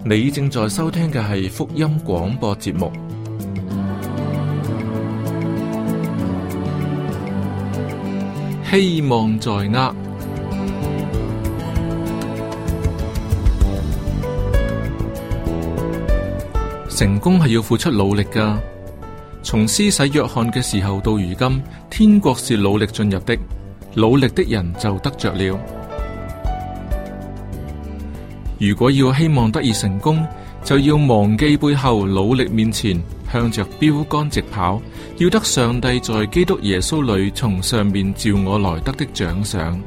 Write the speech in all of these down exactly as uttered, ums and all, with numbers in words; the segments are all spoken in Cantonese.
你正在收聽嘅係福音廣播節目。希望在握。成功係要付出努力㗎。從施洗約翰嘅時候到如今，天國是努力進入的，努力的人就得着了。如果要希望得以成功，就要忘記背後，努力面前，向着標杆直跑，要得上帝在基督耶穌裏從上面召我來得的獎賞。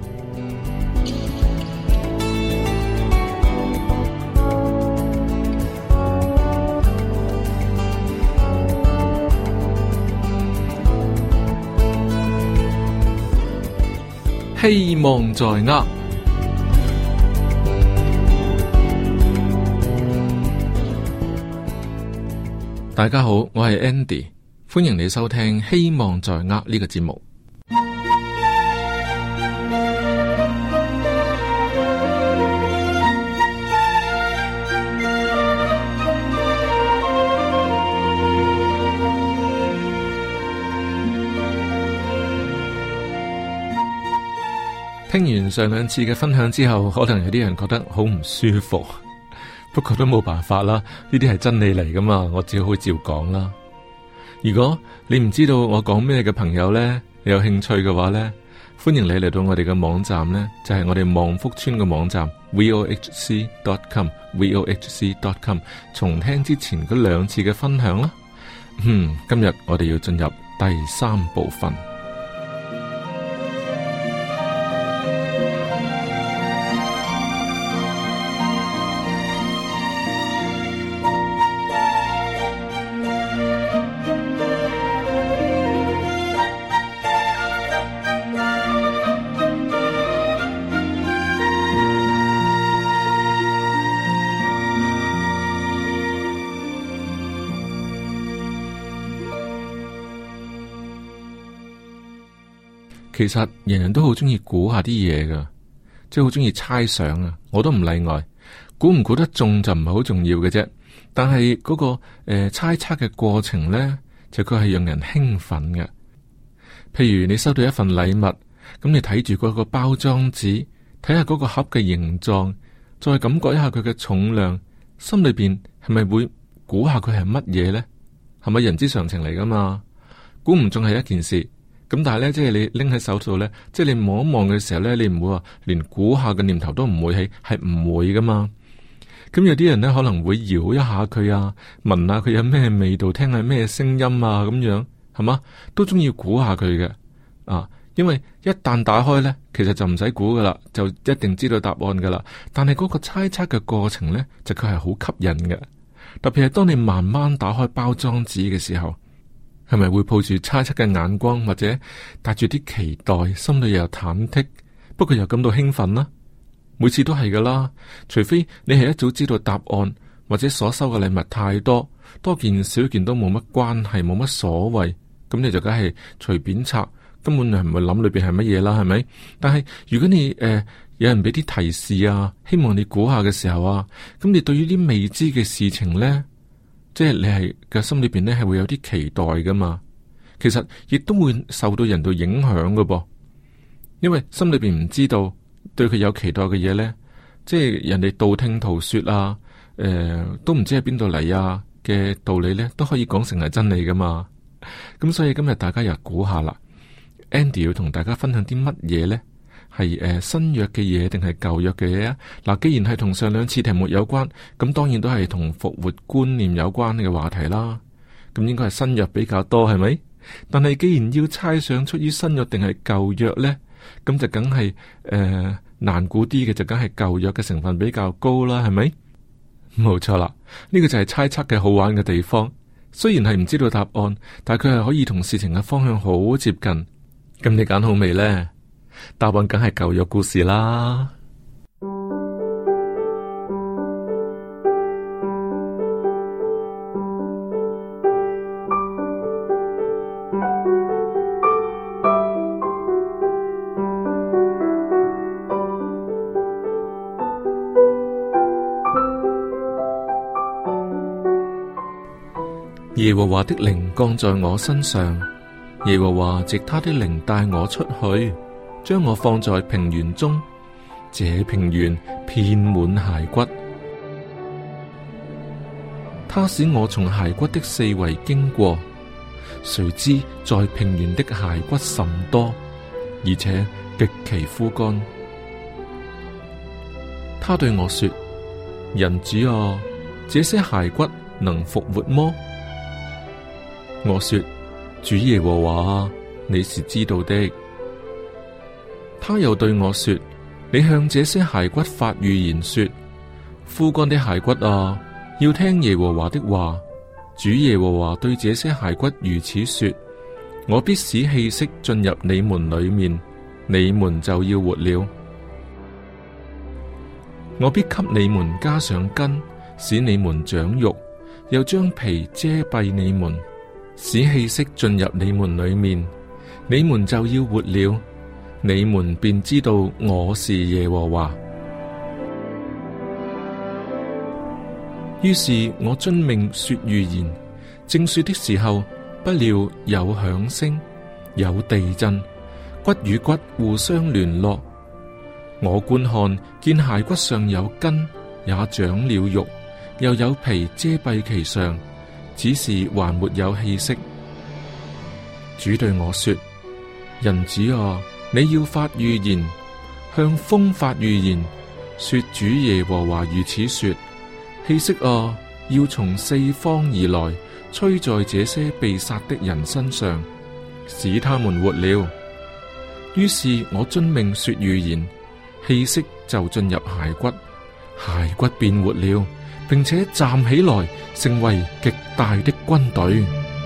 希望在握。大家好，我係 Andy， 歡迎你收聽《希望在握》呢個節目。聽完上兩次嘅分享之後，可能有啲人覺得好唔舒服。不過都冇辦法啦，呢啲係真理嚟噶嘛，我只好照講啦。如果你唔知道我講咩嘅朋友呢，你有興趣嘅話呢，歡迎你嚟到我哋嘅網站呢，就係我哋望福村嘅網站 vohc dot com vohc dot com 重聽之前嗰兩次嘅分享啦。嗯，今日我哋要進入第三部分。其實人人都好中意估下啲嘢噶，即係好中意猜想啊！我都唔例外，估唔估得中就唔係好重要嘅啫。但係嗰、那個誒、呃、猜測嘅過程呢，就佢係讓人興奮嘅。譬如你收到一份禮物，咁你睇住嗰個包裝紙，睇下嗰個盒嘅形狀，再感覺一下佢嘅重量，心裏邊係咪會估下佢係乜嘢呢？係咪人之常情嚟噶嘛？估唔中係一件事。咁但係咧，即係你拎喺手度咧，即係你望一望嘅時候咧，你唔會話連估下嘅念頭都唔會起，係唔會噶嘛。咁有啲人咧可能會搖一下佢啊，聞下佢有咩味道，聽下咩聲音啊，咁樣係嘛，都中意估下佢嘅啊。因為一旦打開咧，其實就唔使估噶啦，就一定知道答案噶啦。但係嗰個猜測嘅過程咧，就佢係好吸引嘅。特別係當你慢慢打開包裝紙嘅時候。係咪會抱住猜測嘅眼光，或者帶住啲期待，心裏又有忐忑，不過又感到興奮啦？每次都係噶啦，除非你係一早知道答案，或者所收嘅禮物太多，多件少件都冇乜關係，冇乜所謂，咁你就梗係隨便拆，根本你唔會諗裏邊係乜嘢啦，係咪？但係如果你誒、呃、有人俾啲提示啊，希望你估下嘅時候啊，咁你對於啲未知嘅事情呢？即係你係嘅心裏邊咧，係會有啲期待噶嘛。其實亦都會受到人度影響噶噃，因為心裏邊唔知道對佢有期待嘅嘢咧，即係人哋道聽途說啊，誒、呃，都唔知喺邊度嚟啊嘅道理咧，都可以講成係真理噶嘛。咁所以今日大家又估下啦 ，Andy 要同大家分享啲乜嘢咧？係誒、呃、新約嘅嘢定係舊約嘅嘢啊？嗱，既然係同上兩次題目有關，咁當然都係同復活觀念有關嘅話題啦。咁應該係新約比較多，係咪？但係既然要猜想出於新約定係舊約呢，咁就梗係誒難估啲嘅，就梗係舊約嘅成分比較高啦，係咪？冇錯啦，呢、這個就係猜測嘅好玩嘅地方。雖然係唔知道答案，但係佢係可以同事情嘅方向好接近。咁你揀好未呢？答案梗係舊約故事啦。 耶和華的靈降在我身上，耶和華藉他的靈帶我出去，將我放在平原中，這平原遍滿骸骨。他使我從骸骨的四圍經過，誰知在平原的骸骨甚多，而且極其枯乾。他對我說：人子啊，這些骸骨能復活麼？我說：主耶和華，你是知道的。他又對我說：你向這些骸骨發預言說，枯乾的骸骨啊，要聽耶和華的話。主耶和華對這些骸骨如此說：我必使氣息進入你們裏面，你們就要活了。我必給你們加上筋，使你們長肉，又將皮遮蔽你們，使氣息進入你們裏面，你們就要活了。你們便知道我是耶和華。於是我遵命說預言，正說的時候，不料有響聲，有地震，骨與骨互相聯絡。我觀看，見骸骨上有筋，也長了肉，又有皮遮蔽其上，只是還沒有氣息。主對我說：人子啊，你要發預言，向風發預言，說主耶和華如此說：氣息啊，要從四方而來，吹在這些被殺的人身上，使他們活了。於是我遵命說預言，氣息就進入骸骨，骸骨變活了，並且站起來，成為極大的軍隊。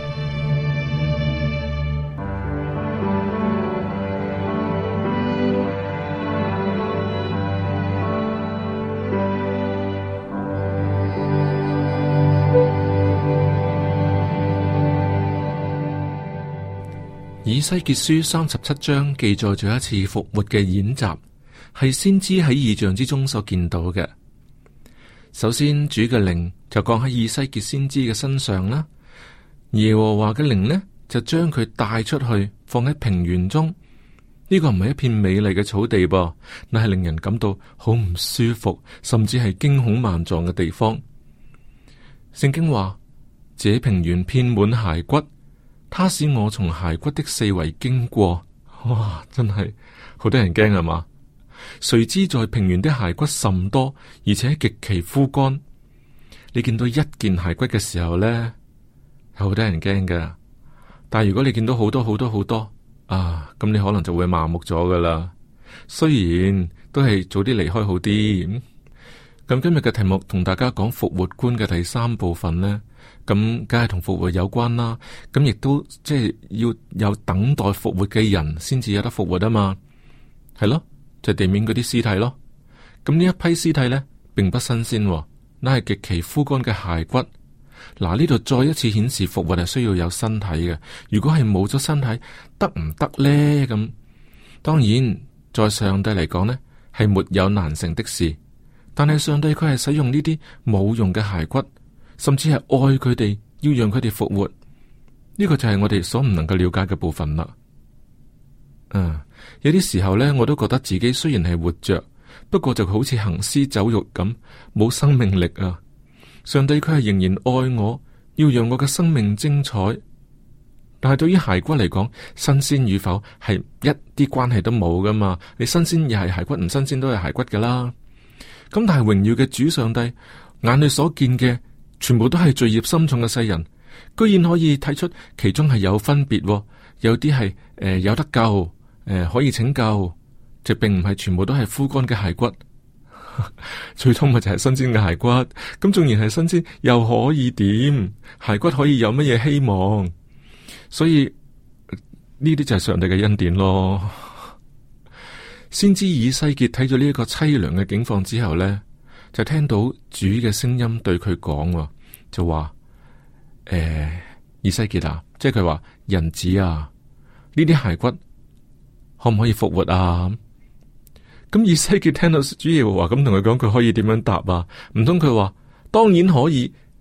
以西結書三十七章記載咗一次復活嘅演習，係先知喺異象之中所見到嘅。首先，主嘅靈就降喺以西結先知嘅身上啦。耶和華嘅靈呢，就將佢帶出去，放喺平原中。呢、這個唔係一片美麗嘅草地噃，乃係令人感到好唔舒服，甚至係驚恐萬狀嘅地方。聖經話：這平原遍滿骸骨。他使我從骸骨的四圍經過，哇！真係好多人驚係嘛？誰知在平原的骸骨甚多，而且極其枯乾。你見到一件骸骨嘅時候呢，有好多人驚噶。但係如果你見到好多好多好多啊，咁你可能就會麻木咗噶啦。雖然都係早啲離開好啲。咁、嗯、今日嘅題目同大家講復活觀嘅第三部分呢。咁梗係同復活有關啦，咁亦都即係要有等待復活嘅人先至有得復活啊嘛，係咯，就係、地面嗰啲屍體咯。咁呢一批屍體呢，並不新鮮，那係極其枯乾嘅骸骨。嗱，呢度再一次顯示復活係需要有身體嘅。如果係冇咗身體，得唔得呢？咁當然，在上帝嚟講呢，係沒有難成的事。但係上帝佢係使用呢啲冇用嘅骸骨。甚至係愛佢哋，要讓佢哋復活，呢個就係我哋所唔能夠了解嘅部分啦。嗯，有啲時候呢，我都覺得自己雖然係活着，不過就好似行屍走肉咁，冇生命力啊。上帝佢係仍然愛我，要讓我嘅生命精彩。但係對於骸骨嚟講，新鮮與否係一啲關係都冇噶嘛。你新鮮又係骸骨，唔新鮮都係骸骨噶啦。咁但係榮耀嘅主上帝眼裏所見嘅，全部都係罪孽深重嘅世人，居然可以睇出其中係有分別，有啲係誒有得救，誒、呃、可以拯救，就並唔係全部都係枯乾嘅骸骨，最終咪就係新鮮嘅骸骨。咁縱然係新鮮，又可以點？骸骨可以有乜嘢希望？所以呢啲就係上帝嘅恩典咯。先知以西結睇咗呢一個淒涼嘅境況之後呢，就聽到主嘅聲音對佢講，就話：誒、欸，以西結啊，即係佢話人子啊，呢啲骸骨可唔可以復活啊？咁以西結聽到主耶和華咁同佢講，佢可以點樣答啊？唔通佢話當然可以，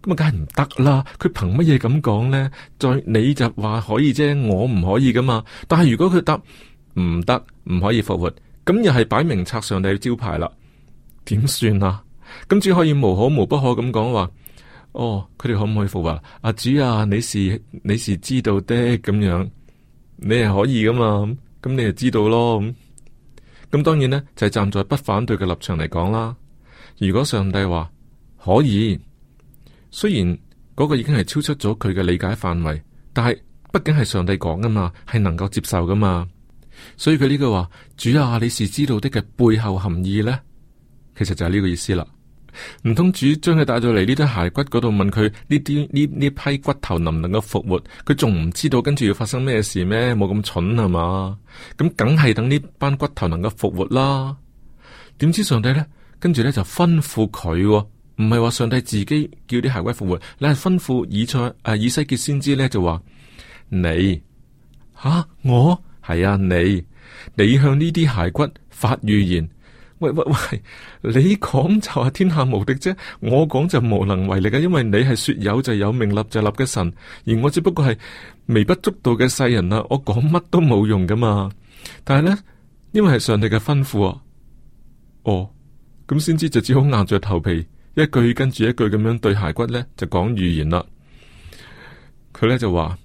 咁啊，梗係唔得啦！佢憑乜嘢咁講咧？再你就話可以啫，我唔可以噶嘛。但係如果佢答唔得，唔可以復活，咁又係擺明拆上帝嘅招牌啦。點算啊？咁只可以無可無不可咁講話。哦，佢哋可唔可以復活？阿主啊，你是你是知道的咁樣，你係可以噶嘛？咁你就知道咯。咁咁當然呢，就係站在不反對嘅立場嚟講啦。如果上帝話可以，雖然嗰個已經係超出咗佢嘅理解範圍，但係畢竟係上帝講噶嘛，係能夠接受噶嘛。所以佢呢句話，主啊，你是知道的嘅背後含義呢，其實就係呢個意思啦。唔通主將佢帶到嚟呢堆骸骨嗰度，問佢呢啲呢呢批骨頭能唔能夠復活？佢仲唔知道跟住要發生咩事咩？冇咁蠢係嘛？咁梗係等呢班骨頭能夠復活啦。點知上帝呢？跟住呢就吩咐佢，唔係話上帝自己叫啲骸骨復活，你係吩咐以賽誒、啊、以西結先知呢，就話你吓、啊、我係啊你你向呢啲骸骨發預言。喂喂喂，你講就係天下無敵啫，我講就無能為力嘅，因為你係說有就有，命立就立嘅神，而我只不過係微不足道嘅世人啊，我講乜都冇用噶嘛。但係咧，因為係上帝嘅吩咐啊，哦，咁先知就只好硬着頭皮，一句跟住一句咁樣對骸骨咧就講預言啦。佢咧就話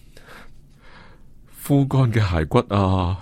枯乾嘅骸骨啊。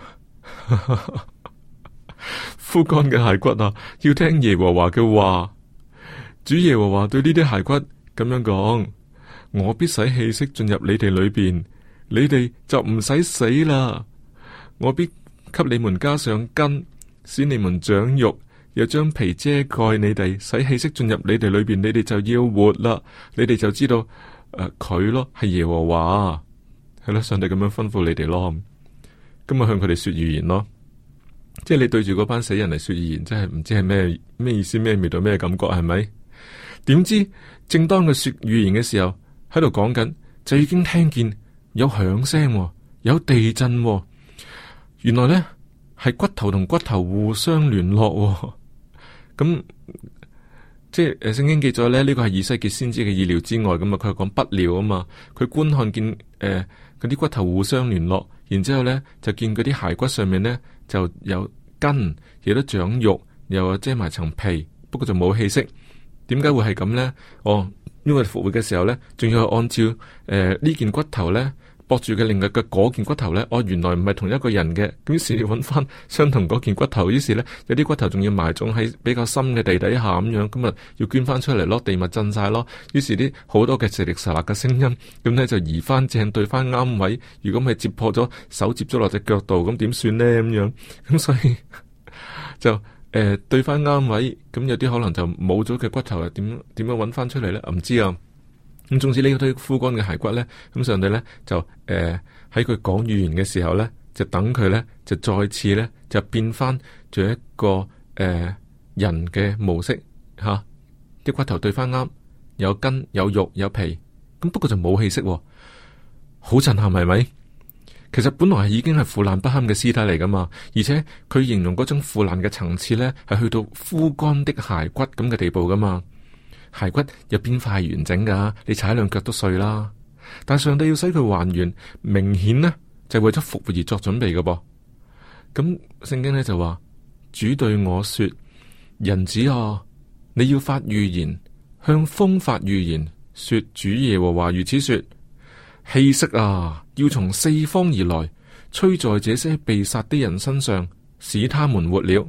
枯乾嘅骸骨啊，要聽耶和華嘅話。主耶和華對呢啲骸骨咁樣講：我必使氣息進入你哋裏邊，你哋就唔使死啦。我必給你們加上筋，使你們長肉，又將皮遮蓋你哋，使氣息進入你哋裏邊，你哋就要活啦。你哋就知道誒，佢、呃、咯係耶和華，係咯，上帝咁樣吩咐你哋咯。咁咪向佢哋說預言咯。即係你對住嗰班死人嚟說預言，真係唔知係咩咩意思，咩味道，咩感覺，係咪？點知正當佢說預言嘅時候，喺度講緊，就已經聽見有響聲，有地震。原來呢係骨頭同骨頭互相聯絡。咁即係誒，聖經記載咧，呢個係以西結先知嘅意料之外。咁啊，佢係講不料啊嘛。佢觀看見誒嗰啲骨頭互相聯絡，然之後咧就見嗰啲骸骨上面呢，就有筋，亦都長肉，又遮埋層皮，不過就冇氣息。點解會係咁呢？哦，因為復活嘅時候呢，仲要按照誒呢、呃、件骨頭呢駁住嘅另外嘅嗰件骨頭呢，哦，原來唔係同一個人嘅，咁於是要揾翻相同嗰件骨頭，於是呢，有啲骨頭仲要埋葬喺比較深嘅地底下咁樣，咁啊要捐翻出嚟咯，地物震晒咯，於是啲好多嘅石力石辣嘅聲音，咁呢就移翻正對翻啱位，如果咪接破咗手接咗落隻腳度，咁點算呢？咁樣，咁所以就誒、呃、對翻啱位，咁有啲可能就冇咗嘅骨頭啊，點點樣揾翻出嚟呢？唔知啊。咁總之呢堆枯乾嘅骸骨咧，咁上帝咧就誒喺佢講預言嘅時候咧，就等佢咧就再次咧就變翻做一個誒、呃、人嘅模式吓，啲、啊、骨頭對翻啱，有筋有肉有皮，咁不過就冇氣息，好震撼係咪？其實本來係已經係腐爛不堪嘅屍體嚟噶嘛，而且佢形容嗰種腐爛嘅層次咧係去到枯乾的骸骨咁嘅地步噶嘛。骸骨有邊塊係完整噶？你踩兩腳都碎啦。但上帝要使佢還原，明顯呢就係為咗復活而作準備嘅噃。咁聖經呢就話：主對我說，人子啊，你要發預言，向風發預言，說主耶和華如此說：氣息啊，要從四方而來，吹在這些被殺的人身上，使他們活了。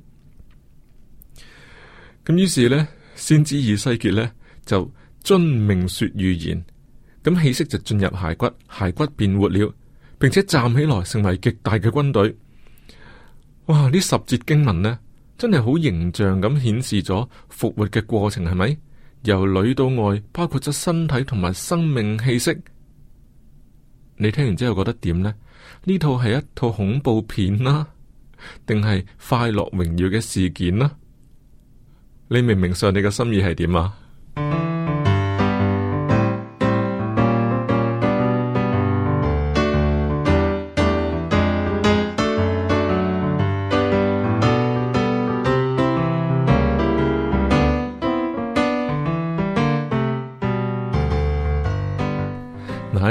咁於是呢。先知以西結呢，就遵命說預言，咁氣息就進入骸骨，骸骨變活了，並且站起來成為極大嘅軍隊。哇！呢十節經文呢，真係好形象咁顯示咗復活嘅過程，係咪？由裏到外，包括咗身體同埋生命氣息。你聽完之後覺得點呢？呢套係一套恐怖片啦，定係快樂榮耀嘅事件啦？你明唔明上帝嘅心意係點啊？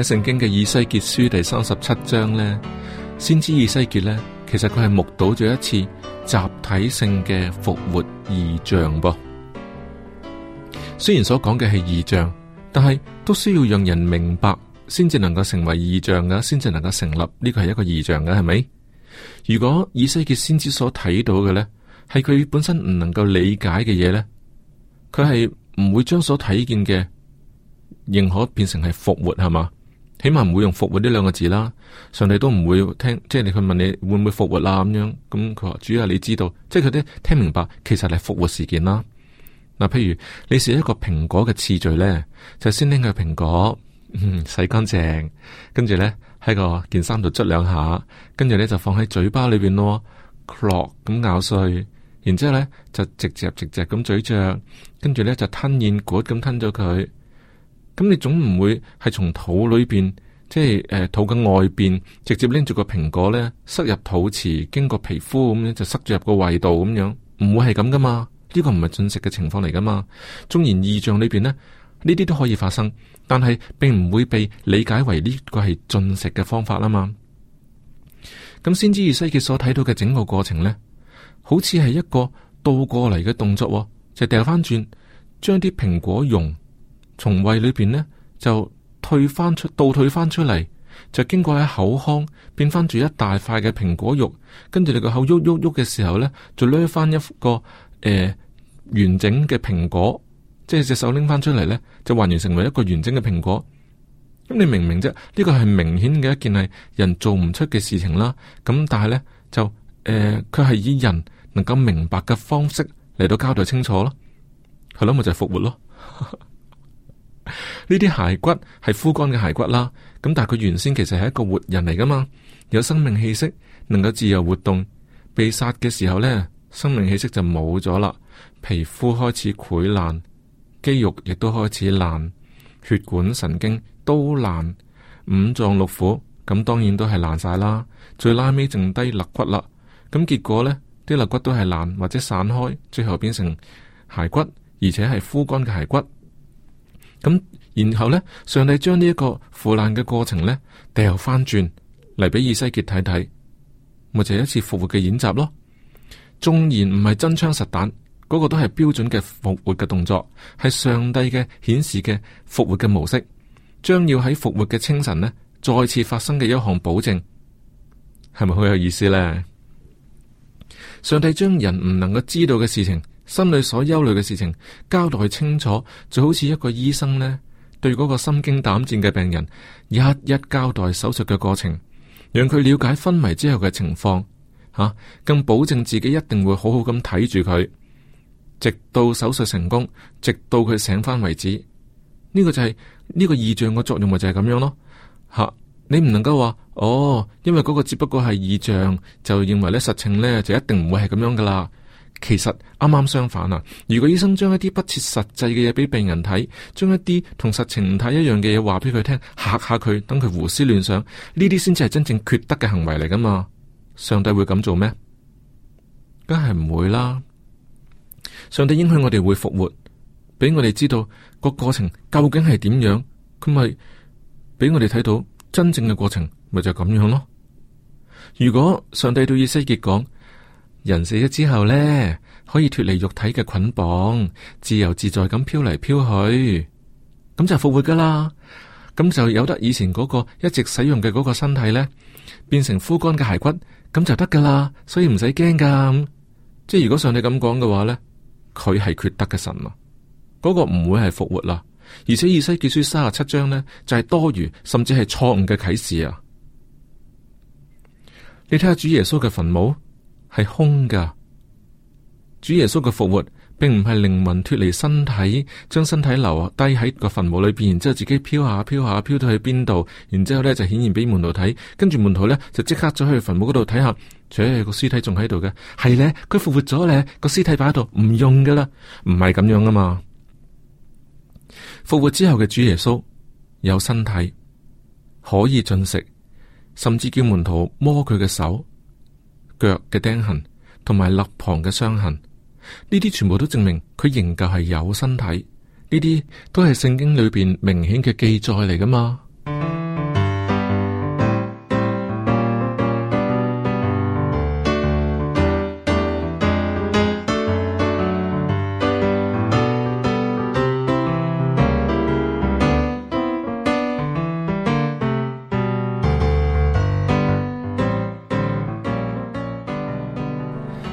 喺聖經嘅以西結書第三十七章呢，先知以西結呢，其實佢係目睹咗一次集體性嘅復活異象噃。雖然所講嘅係異象，但係都需要讓人明白，先至能夠成為異象噶，先至能夠成立呢個係一個異象噶，係咪？如果以西結先知所睇到嘅呢，係佢本身唔能夠理解嘅嘢呢，佢係唔會將所睇見嘅認可變成係復活，係嘛？起碼唔會用復活呢兩個字啦。上帝都唔會聽，即係你去問你會唔會復活啦咁樣。咁佢話主要你知道，即係佢啲聽明白，其實係復活事件啦。嗱，譬如你試一個蘋果嘅次序咧，就先拎個蘋果，嗯，洗乾淨，跟住咧喺個件衫度捽兩下，跟住咧就放喺嘴巴裏邊咯，clog 咁咬碎，然之後咧就直嚼直嚼咁咀嚼，跟住咧就吞咽果咁吞咗佢。咁你總唔會係從肚裏邊，即係誒、呃、肚嘅外邊，直接拎住個蘋果咧塞入肚臍，經過皮膚咁樣就塞咗入個胃度咁樣，唔會係咁噶嘛？呢個唔係進食嘅情況嚟噶嘛？縱然異象裏邊呢，呢啲都可以發生，但係並唔會被理解為呢個係進食嘅方法啦嘛。咁先知以西結所睇到嘅整個過程呢，好似係一個倒過嚟嘅動作，就掉翻轉，將啲蘋果蓉從胃裏邊呢就退翻出，倒退翻出嚟，就經過喺口腔變翻住一大塊嘅蘋果肉，跟住你個口喐喐喐嘅時候呢，就掠翻一個。誒、呃，完整嘅蘋果，即係隻手拎翻出嚟呢，就還原成為一個完整嘅蘋果。咁你明唔明啫？呢個係明顯嘅一件係人做唔出嘅事情啦。咁但係呢，就誒，佢、呃、係以人能夠明白嘅方式嚟到交代清楚咯。係咯，咪就係、是、復活咯。呢啲骸骨係枯乾嘅骸骨啦。咁但係佢原先其實係一個活人嚟噶嘛，有生命氣息，能夠自由活動。被殺嘅時候呢，生命氣息就冇咗啦，皮膚開始潰爛，肌肉亦都開始爛，血管神經都爛，五臟六腑咁當然都係爛晒啦。最拉尾剩低肋骨啦，咁結果呢啲肋骨都係爛或者散開，最後變成骸骨，而且係枯乾嘅骸骨。咁然後呢，上帝將呢一個腐爛嘅過程呢掉翻轉嚟俾以西結睇睇，咪就係一次復活嘅演習咯。縱然唔係真槍實彈，嗰、那個都係標準嘅復活嘅動作，係上帝嘅顯示嘅復活嘅模式，將要喺復活嘅清晨呢再次發生嘅一項保證，係咪好有意思呢？上帝將人唔能夠知道嘅事情，心裏所憂慮嘅事情交代清楚，就好似一個醫生呢對嗰個心驚膽戰嘅病人一一交代手術嘅過程，讓佢了解昏迷之後嘅情況。吓、啊，更保證自己一定會好好咁睇住佢，直到手術成功，直到佢醒翻為止。呢、這個就係、是、呢、這個異象嘅作用，咪就係咁樣咯。吓、啊，你唔能夠話哦，因為嗰個只不過係異象，就認為咧實情咧就一定唔會係咁樣噶啦。其實啱啱相反啊！如果醫生將一啲不切實際嘅嘢俾病人睇，將一啲同實情唔太一樣嘅嘢話俾佢聽，嚇下佢，等佢胡思亂想，呢啲先至係真正缺德嘅行為嚟噶嘛。上帝會咁做咩？梗係唔會啦。上帝應許我哋會復活，俾我哋知道個過程究竟係點樣，佢咪俾我哋睇到真正嘅過程，咪就咁樣咯。如果上帝對以西結講，人死咗之後呢，可以脫離肉體嘅捆綁，自由自在咁飄嚟飄去，咁就復活噶啦。咁就有得以前嗰個一直使用嘅嗰個身體呢，變成枯乾嘅骸骨。咁就得噶啦，所以唔使驚噶。即係如果上帝咁講嘅話呢，佢係缺德嘅神啊，嗰、那個唔會係復活啦。而且以西結書三十七章呢，就係、是、多餘甚至係錯誤嘅啟示啊。你睇下主耶穌嘅墳墓係空噶，主耶穌嘅復活並唔係靈魂脫離身體，將身體留低喺個墳墓裏邊，然之後自己飄下飄下飄到去邊度，然之後咧就顯現俾門徒睇，跟住門徒咧就即刻走去墳墓嗰度睇下，切個屍體仲喺度嘅，係咧佢復活咗咧，個屍體擺喺度唔用噶啦，唔係咁樣啊嘛。復活之後嘅主耶穌有身體可以進食，甚至叫門徒摸佢嘅手腳嘅釘痕同埋肋旁嘅傷痕。呢啲全部都證明佢仍舊係有身體，呢啲都係聖經裏邊明顯嘅記載嚟噶嘛。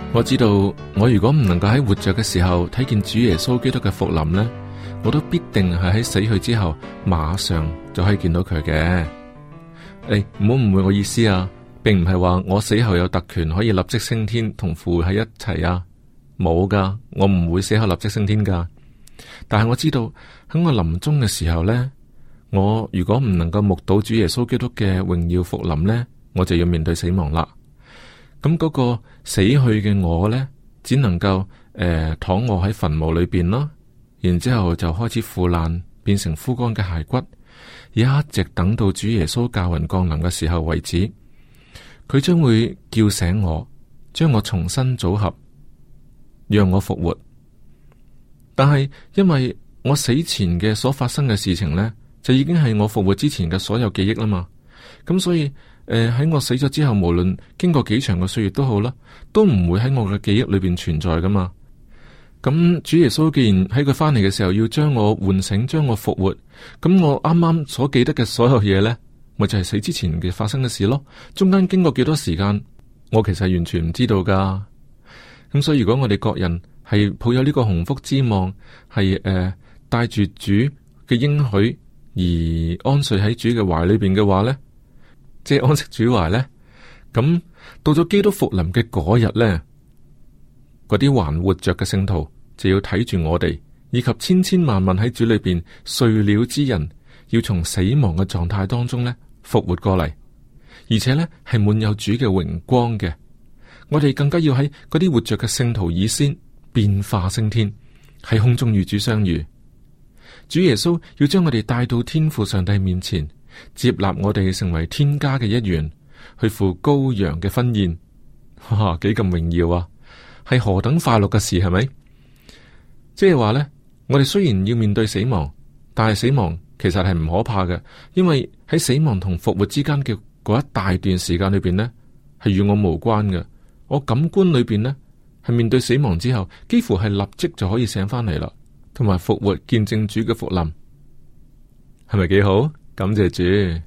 我知道我如果唔能夠喺活着嘅時候睇見主耶穌基督嘅復臨呢，我都必定係喺死去之後馬上就可以見到佢嘅。誒，唔好誤會我意思啊，並唔係話我死後有特權可以立即升天同父喺一齊啊，冇噶，我唔會死後立即升天噶。但係我知道喺我臨終嘅時候呢，我如果唔能夠目睹主耶穌基督嘅榮耀復臨呢，我就要面對死亡啦。咁嗰個死去嘅我呢，只能夠誒、呃、躺臥喺墳墓裏邊咯，然之後就開始腐爛，變成枯乾嘅骸骨，一直等到主耶穌駕雲降臨嘅時候為止。佢將會叫醒我，將我重新組合，讓我復活。但係因為我死前嘅所發生嘅事情呢，就已經係我復活之前嘅所有記憶啦嘛。咁所以誒喺、呃、我死咗之後，無論經過幾長嘅歲月都好啦，都唔會喺我嘅記憶裏邊存在噶嘛。咁主耶穌既然喺佢翻嚟嘅時候要將我喚醒，將我復活，咁我啱啱所記得嘅所有嘢呢，咪就係、是、死之前嘅發生嘅事咯。中間經過幾多時間，我其實完全唔知道噶。咁所以如果我哋各人係抱有呢個鴻福之望，係誒帶住主嘅應許而安睡喺主嘅懷裏邊嘅話呢，即係安息主懷呢，咁到咗基督復臨嘅嗰日呢，嗰啲還活着嘅聖徒就要睇住我哋，以及千千萬萬喺主裏邊睡了之人，要從死亡嘅狀態當中呢復活過嚟，而且呢係滿有主嘅榮光嘅。我哋更加要喺嗰啲活着嘅聖徒以先變化升天，喺空中與主相遇。主耶穌要將我哋帶到天父上帝面前，接納我哋成為天家嘅一員，去赴羔羊嘅婚宴。哇，幾咁榮耀啊！係何等快樂嘅事，係咪？即係話呢，我哋雖然要面對死亡，但係死亡其實係唔可怕嘅，因為喺死亡同復活之間嘅嗰一大段時間裏邊呢，係與我無關嘅。我感官裏邊呢，係面對死亡之後，幾乎係立即就可以醒翻嚟啦，同埋復活見證主嘅復臨，係咪幾好？感謝主。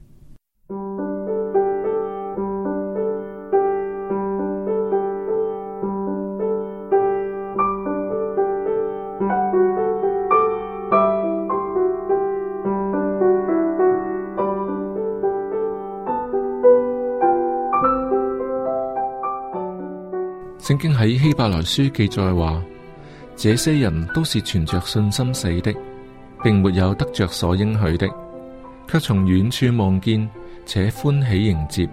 聖經喺希伯來書記載話，這些人都是存着信心死的，並沒有得着所應許的，卻從遠處望見，且歡喜迎接。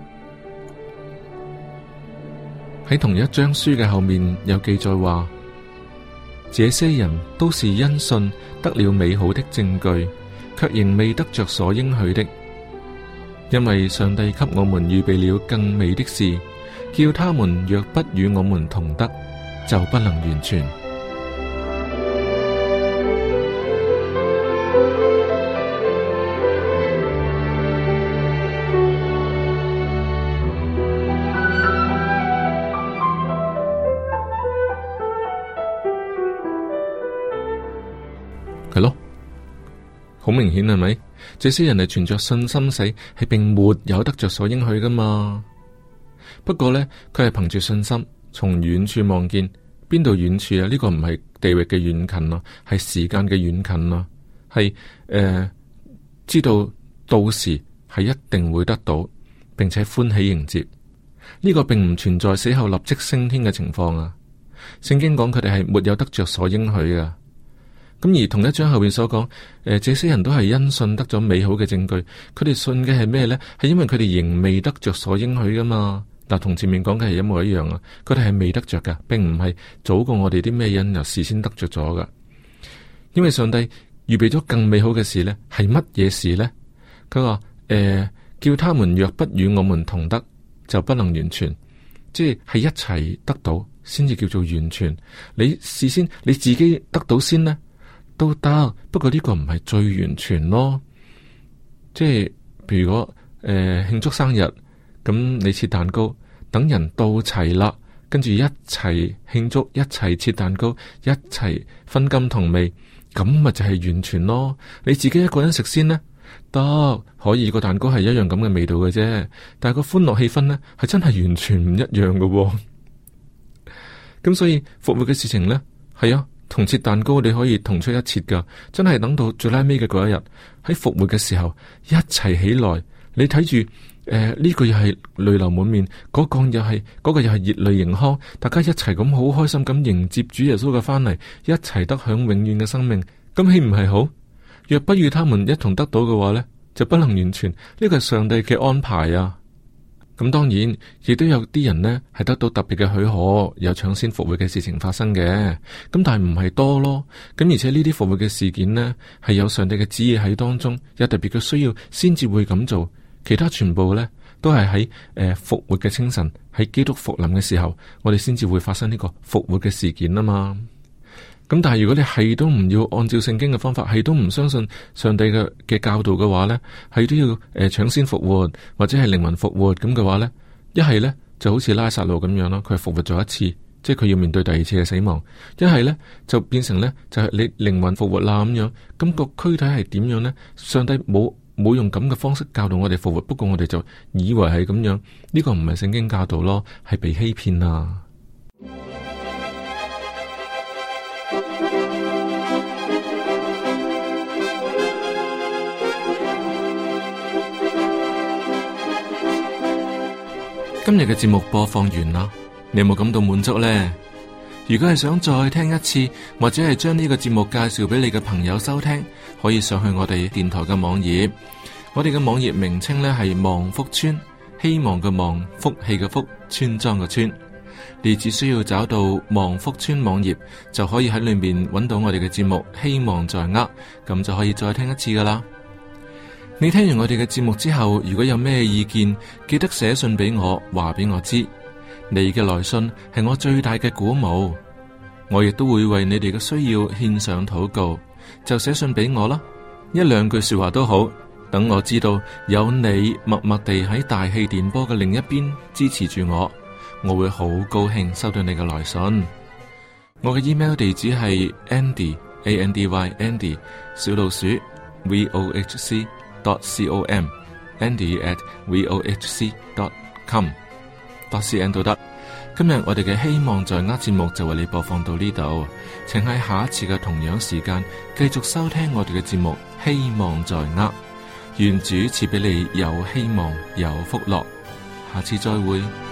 喺同一章書嘅後面有記載話，這些人都是因信得了美好的證據，卻仍未得着所應許的，因為上帝給我們預備了更美的事，叫他們若不與我們同得，就不能完全。係咯，好明顯係咪？這些人係存着信心死，係並沒有得着所應許噶嘛。不過呢，佢係憑住信心從遠處望見，邊度遠處啊？呢、這個唔係地域嘅遠近咯，係時間嘅遠近咯，係誒、呃、知道到時係一定會得到，並且歡喜迎接。呢、這個並唔存在死後立即升天嘅情況啊！聖經講佢哋係沒有得着所應許噶。咁而同一章後邊所講，誒、呃，這些人都係因信得咗美好嘅證據。佢哋信嘅係咩呢？係因為佢哋仍未得着所應許噶嘛。嗱，同前面講嘅係一模一樣啊！佢哋係未得着噶，並唔係早過我哋啲咩因由事先得着咗噶。因為上帝預備咗更美好嘅事呢，係乜嘢事呢？佢話誒，叫他們若不與我們同得，就不能完全，即係係一齊得到先至叫做完全。你事先你自己得到先呢，都得，不過呢個唔係最完全咯。即係譬如果誒慶祝生日。咁你切蛋糕，等人到齊啦，跟住一齊慶祝，一齊切蛋糕，一齊分甘同味，咁咪就係完全咯。你自己一個人食先呢，得可以，個蛋糕係一樣咁嘅味道嘅啫，但係個歡樂氣氛呢，係真係完全唔一樣嘅喎。 咁所以復活嘅事情呢，係啊，同切蛋糕你可以同出一轍噶，真係等到最拉尾嘅嗰一日，喺復活嘅時候一齊起來，你睇住誒呢個又係淚流滿面，嗰、嗰個又係嗰、嗰個又係熱淚盈眶，大家一齊咁好開心咁迎接主耶穌嘅翻嚟，一齊得享永遠嘅生命，咁豈唔係好？若不與他們一同得到嘅話呢，就不能完全，呢個係上帝嘅安排啊！咁當然，亦都有啲人呢係得到特別嘅許可，有搶先復活嘅事情發生嘅。咁但係唔係多咯。咁而且呢啲復活嘅事件呢，係有上帝嘅旨意喺當中，有特別嘅需要先至會咁做。其他全部呢，都係喺誒復活嘅清晨，喺基督復臨嘅時候，我哋先至會發生呢個復活嘅事件啊嘛。咁但係如果你係都唔要按照聖經嘅方法，係都唔相信上帝嘅嘅教導嘅話呢，係都要誒搶、呃、先復活或者係靈魂復活咁嘅話呢，一係呢就好似拉撒路咁樣咯，佢係復活咗一次，即係佢要面對第二次嘅死亡；一係呢就變成呢，就係、是、你靈魂復活啦咁樣，咁、那個軀體係點樣呢？上帝冇冇用咁嘅方式教導我哋復活，不過我哋就以為係咁樣，呢、這個唔係聖經教導咯，係被欺騙啊！今日嘅節目播放完啦，你有冇感到滿足呢？如果係想再聽一次，或者係將呢個節目介紹俾你嘅朋友收聽，可以上去我哋電台嘅網頁。我哋嘅網頁名稱呢係望福村，希望嘅望，福氣嘅福，村莊嘅村。你只需要找到望福村網頁，就可以喺裏面揾到我哋嘅節目。希望在握，咁就可以再聽一次噶啦。你聽完我哋嘅節目之後，如果有咩意見，記得寫信俾我，話俾我知。你嘅來信係我最大嘅鼓舞，我亦都會為你哋嘅需要獻上禱告。就寫信俾我啦，一兩句說話都好，等我知道有你默默地喺大氣電波嘅另一邊支持住我，我會好高興收到你嘅來信。我嘅 email 地址係 Andy A N D Y Andy 小老鼠 V O H C dot com Andy at V O H C dot com dot cn 都得。今日我哋嘅希望在握節目就為你播放到呢度，請喺下一次嘅同樣時間繼續收聽我哋嘅節目。希望在握，願主賜俾你有希望有福樂。下次再會。